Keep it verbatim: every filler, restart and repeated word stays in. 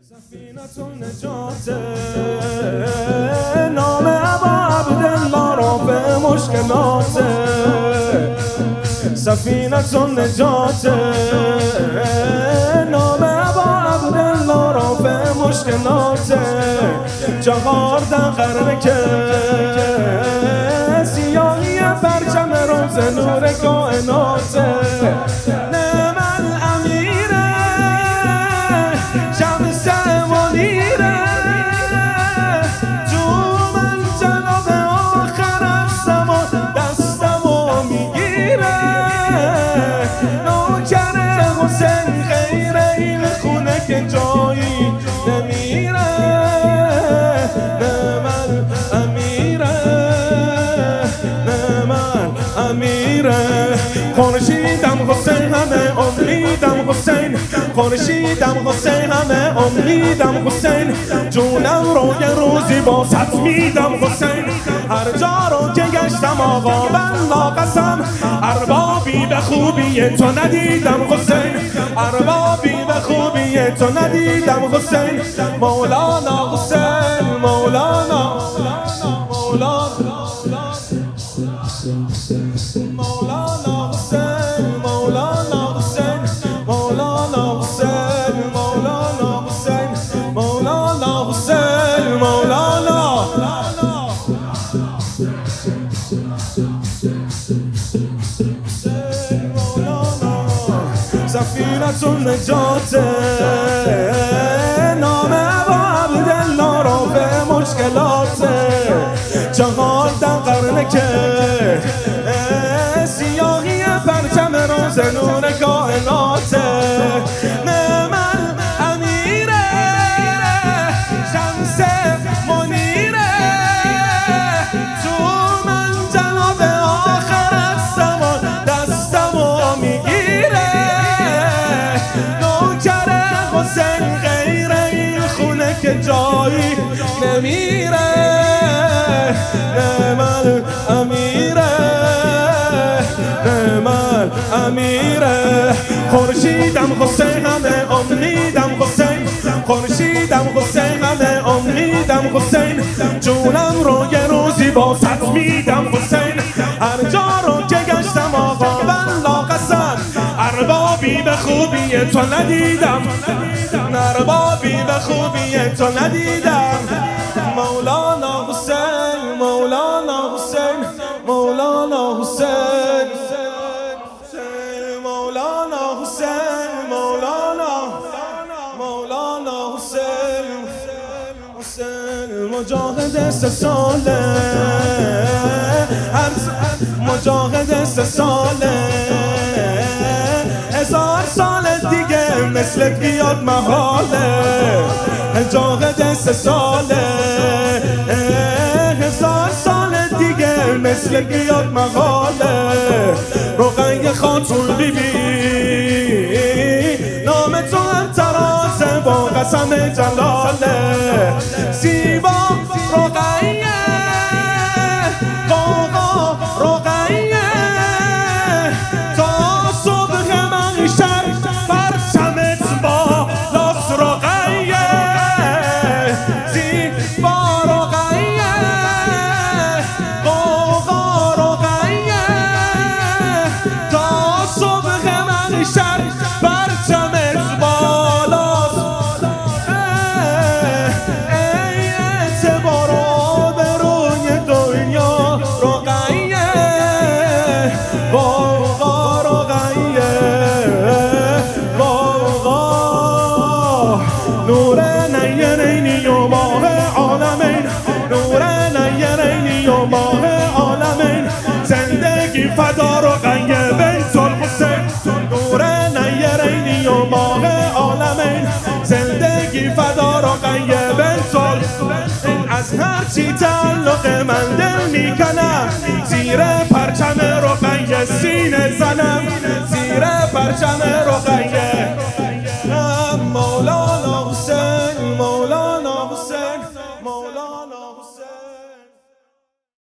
سفینة النجات نام ابا عبدالله را به مشکلات سفینة النجات نام ابا عبدالله را به مشکلات چهار قرن که سیاهی پرچم روز نور کائنات نعم الامیر شمس منیره تو من جناب آخر زمان دستمو میگیره نوکر حسین غیر این خونه که جایی نمیره نعم امیره نعم امیره خورشیدم حسین همه امیدم حسین خورشیدم حسین همه امیدم حسین جونم رو یه روزی با ست میدم حسین هر جا رو که گشتم آقا والله قسم اربابی به خوبی تو ندیدم حسین اربابی به خوبی تو ندیدم حسین مولانا حسین مولانا مولانا مولانا حسین مولانا حسین مولانا حسین مولانا حسین مولانا حسین مولانا سفینة النجات نام ابا عبدالله را به مشکلات چهار قرن که سیاهی پرچم روز نور کائنات نعم امیره شمس منیره تو من جناب آخر زمان دستمو میگیره نوکر حسین غیر این خونه که جایی نمیره نعم امیره نعم امیره خورشیدم حسین همه امیدم حسین خورشیدم حسین همه امیدم حسین جونم رو یه روزی با ست میدم حسین هر جا رو که گشتم آقا والله قسم اربابی به خوبی تو ندیدم اربابی به خوبی تو ندیدم مولانا حسین مولانا حسین مولانا حسین مولانا حسین مولانا مولانا حسین حسین مجاهد سه ساله مجاهد سه ساله هزار سال دیگه مثل بیاد محاله مجاهد سه ساله هزار سال دیگه مثل بیاد محاله رقیه خاتون بی بی نام تو هم ترازه با قسم جلاله زیبا رقیه قاقا رقیه تا صبح محشر پرچمت با لاس رقیه زیبا رقیه قاقا رقیه تا صبح محشر پرچمت بالاست ای اعتبار به روی دنیا رقیه قاقا رقیه قاقا نور نیرینی و ماه عالمین نور نیرینی و ماه عالمین زندگی فدا رقیه بیت الحسین نور نیرینی و ماه عالمین زندگی فدا رقیه بیت الحسین از هرچی تعلق من دل میکنم زیر پرچم رقیه سینه زنم زیر پرچم رقیه